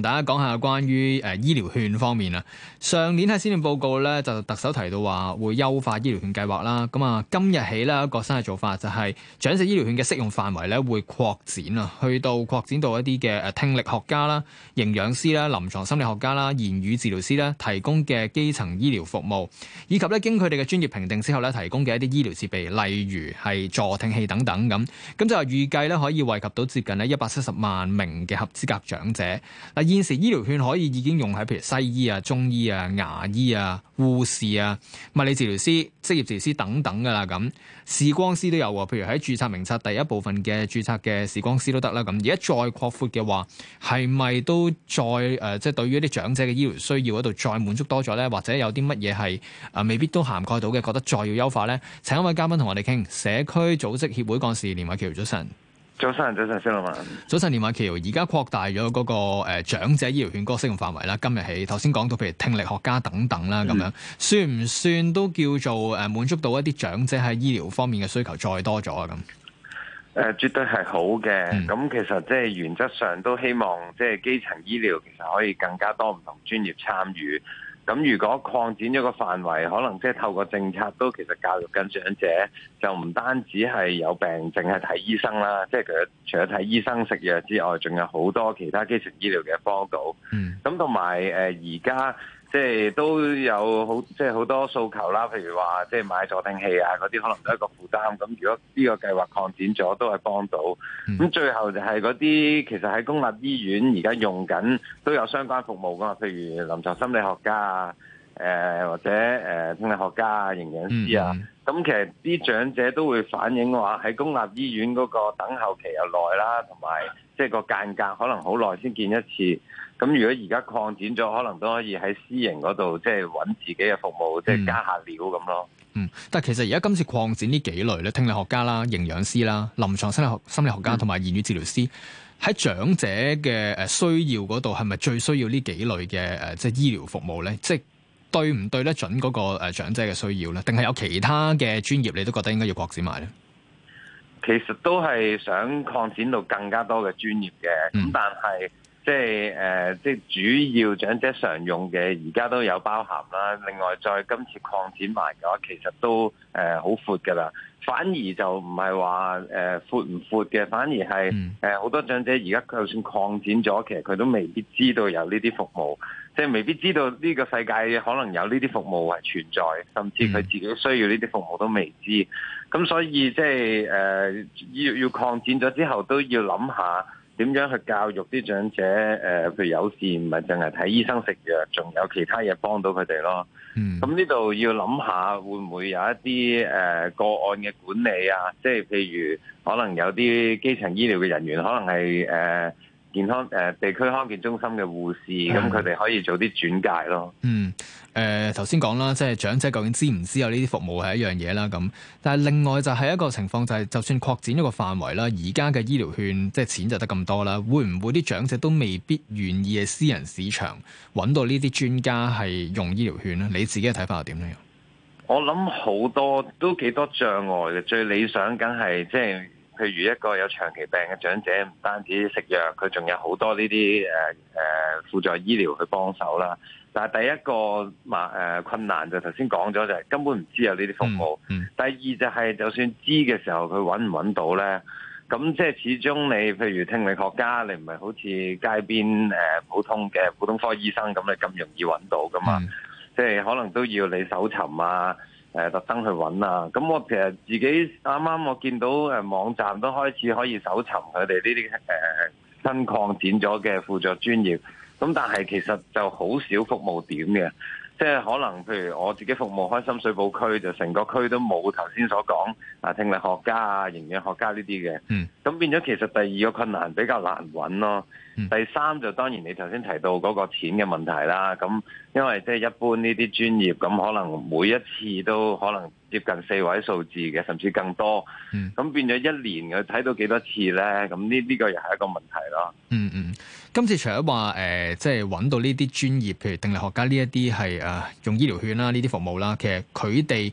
同大家講下關於醫療券方面啊。上年喺施政報告咧，就特首提到話會優化醫療券計劃啦。咁啊，今日起咧一個新嘅做法就係長者醫療券嘅適用範圍咧會擴展啊，擴展到一啲嘅聽力學家啦、營養師啦、臨床心理學家啦、言語治療師啦提供嘅基層醫療服務，以及咧經佢哋嘅專業評定之後咧提供嘅一啲醫療設備，例如係助聽器等等咁。咁就係預計咧可以惠及到接近咧170萬名嘅合資格長者。嗱，現時醫療券可以已經用喺譬如西醫啊、中醫啊、牙醫啊、護士啊、物理治療師、職業治療師等等噶啦。咁視光師都有喎，譬如喺註冊名冊第一部分嘅註冊嘅視光師都得啦。咁而家再擴闊嘅話，係咪都再即係對於一啲長者嘅醫療需要嗰度再滿足多咗咧？或者有啲乜嘢係未必都涵蓋到嘅，覺得再要優化咧？請一位嘉賓同我哋傾，社區組織協會幹事連瑋翹，早晨。 早晨，施老闆。早晨，連瑋翹，而家擴大咗嗰個長者醫療券嗰個適用範圍啦。今日起，頭先講到譬如聽力學家等等啦，咁樣算唔算都叫做滿足到一啲長者喺醫療方面嘅需求再多咗啊？咁絕對係好嘅。咁其實即係原則上都希望即係基層醫療其實可以更加多唔同專業參與。咁如果擴展咗個範圍，可能即係透過政策都其實教育緊長者，就唔單止係有病淨係睇醫生啦，即係佢除咗睇醫生食藥之外，仲有好多其他基層醫療嘅幫到。咁同埋而家即係都有好多訴求啦，譬如話即係買助聽器啊嗰啲，可能都係一個負擔。咁如果呢個計劃擴展咗，都係幫到。咁最後就係嗰啲其實喺公立醫院而家用緊都有相關服務噶嘛，譬如臨床心理學家啊，或者聽力學家啊、營養師啊。咁其實啲長者都會反映話喺公立醫院嗰個等候期又耐啦，同埋即係個間隔可能好耐先見一次。咁如果而家擴展咗，可能都可以喺私營嗰度即係揾自己嘅服務，即係加下料咁咯。 但係其實而家今次擴展呢幾類咧，聽力學家啦、營養師啦、臨床心理學家同埋言語治療師，喺長者嘅需要嗰度係咪最需要呢幾類嘅即係醫療服務咧？即係對唔對得準嗰個長者嘅需要咧？定係有其他嘅專業你都覺得應該要擴展埋咧？ 其實都係想擴展到更加多嘅專業嘅，咁但係即係主要長者常用嘅，而家都有包含啦。另外再今次擴展埋嘅話，其實都好闊㗎啦。反而就唔係話闊唔闊嘅，反而係好多長者而家就算擴展咗，其實佢都未必知道有呢啲服務，即係未必知道呢個世界可能有呢啲服務係存在，甚至佢自己需要呢啲服務都未知。咁所以即係要擴展咗之後，都要諗下點樣去教育啲長者，譬如有事唔係淨係睇醫生食藥，仲有其他嘢幫到佢哋咯。咁呢度要諗下會唔會有一啲個案嘅管理啊？即係譬如可能有啲基層醫療嘅人員，可能係健康地區康健中心嘅護士，咁佢哋可以做啲轉介咯。 頭先講啦，即係長者究竟知唔知有呢啲服務係一樣嘢啦咁。但係另外就係一個情況，就係就算擴展咗個範圍啦，而家嘅醫療券即係錢就得咁多啦，會唔會啲長者都未必願意喺私人市場揾到呢啲專家係用醫療券咧？你自己嘅睇法係點樣？ 我諗好多都幾多障礙嘅，最理想梗係即係譬如一個有長期病嘅長者，唔單止食藥，佢仲有好多呢啲輔助醫療去幫手啦。但係第一個困難就頭先講咗，就係根本唔知有呢啲服務。第二就係就算知嘅時候，佢揾唔揾到咧？咁即係始終你譬如聽力學家，你唔係好似街邊普通科醫生咁，你咁容易揾到噶嘛？即係可能都要你搜尋啊，特登去揾啊。咁我其實自己啱啱我見到網站都開始可以搜尋佢哋呢啲新擴展咗嘅輔助專業。咁但係其實就好少服務點嘅，即係可能譬如我自己服務開深水埗區，就成個區都冇頭先所講聽力學家啊、營養學家呢啲嘅。咁變咗其實第二個困難比較難揾咯。第三就當然你頭先提到嗰個錢嘅問題啦。咁因為即係一般呢啲專業，咁可能每一次都可能接近4位數字嘅，甚至更多。咁變咗一年佢睇到幾多次咧？咁呢個又係一個問題咯。 今次除咗話即係揾到呢啲專業，譬如聽力學家呢一啲係用醫療券啦，呢啲服務啦，其實佢哋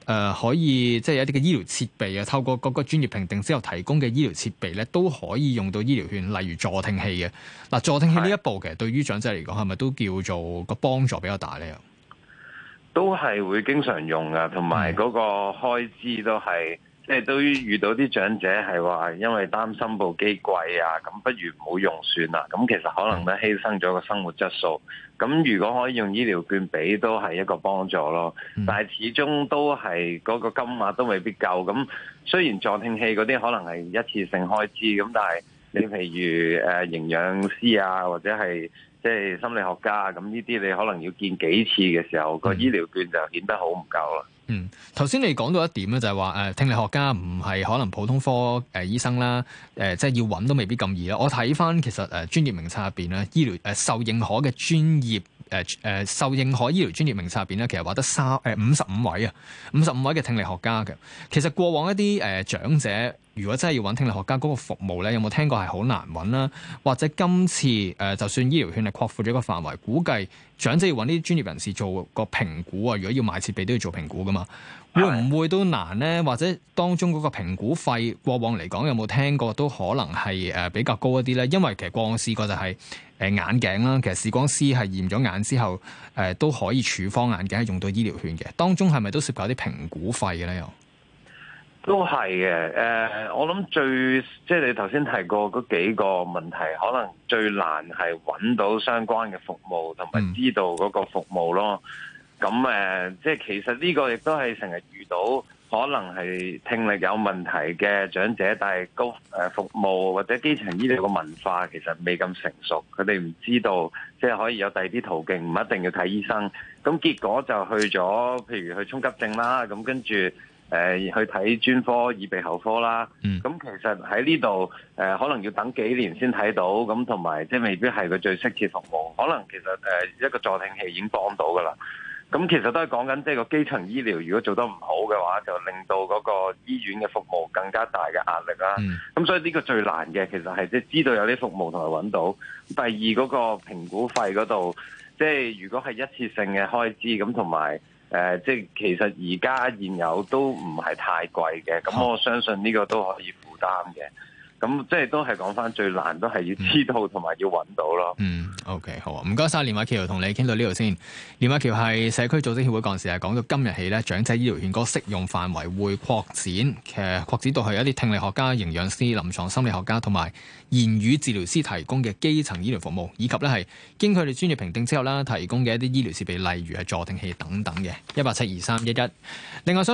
可以即係一啲嘅醫療設備啊，透過各個專業評定之後提供嘅醫療設備咧，都可以用到醫療券，例如助聽器嘅。嗱，助聽器呢一步其實對於長者嚟講係咪都叫做個幫助比較大咧？ 都係會經常用噶，同埋嗰個開支都係，即係都遇到啲長者係話，因為擔心部機貴啊，咁不如唔好用算啦。咁其實可能咧犧牲咗個生活質素。咁如果可以用醫療券俾，都係一個幫助咯。但係始終都係嗰個金額都未必夠。咁雖然助聽器嗰啲可能係一次性開支，咁但係你譬如營養師啊，或者係即係心理學家，咁呢啲你可能要見幾次嘅時候，個醫療券就顯得好唔夠啦。 頭先你講到一點咧，就係話聽力學家唔係可能普通科醫生啦，即係要揾都未必咁易啦。我睇翻其實專業名冊入邊咧，醫療受認可嘅專業受認可醫療專業名冊入邊咧，其實話得55位啊，55位嘅聽力學家嘅。其實過往一啲長者，如果真係要揾聽力學家嗰個服務咧，有冇聽過係好難揾啦？或者今次就算醫療券係擴闊咗個範圍，估計長者要揾啲專業人士做個評估啊，如果要買設備都要做評估噶嘛，會唔會都難呢？或者當中嗰個評估費過往嚟講有冇聽過都可能係比較高一啲咧？因為其實過往試過就係眼鏡啦，其實視光師係驗咗眼之後都可以處方眼鏡係用到醫療券嘅，當中係咪都涉及一啲評估費嘅咧？又都係嘅，我諗即係你頭先提過嗰幾個問題，可能最難係揾到相關嘅服務，同埋知道嗰個服務咯。咁即係其實呢個亦都係成日遇到，可能係聽力有問題嘅長者，但係服務或者基層醫療嘅文化其實未咁成熟，佢哋唔知道即係可以有第二啲途徑，唔一定要睇醫生。咁結果就去咗，譬如去衝急症啦，咁跟住去睇專科耳鼻喉科啦。咁其實喺呢度可能要等幾年先睇到，咁同埋即係未必係個最適切服務。可能其實一個助聽器已經幫到噶啦。咁其實都係講緊即係個基層醫療，如果做得唔好嘅話，就令到嗰個醫院嘅服務更加大嘅壓力啦。咁所以呢個最難嘅，其實係即係知道有啲服務同埋揾到。第二嗰個評估費嗰度，即係如果係一次性嘅開支，咁同埋即係其實而家現有都唔係太貴嘅，咁我相信呢個都可以負擔嘅。咁即係都係講翻最難，都係要知道同埋要揾到咯。 OK， 好啊，唔該晒連瑋翹，同你傾到呢度先。連瑋翹係社區組織協會幹事，係講到今日起咧，長者醫療券嗰個適用範圍會擴展，其實擴展到係一啲聽力學家、營養師、臨床心理學家同埋言語治療師提供嘅基層醫療服務，以及咧係經佢哋專業評定之後啦，提供嘅一啲醫療設備，例如係助聽器等等嘅。1872311。另外想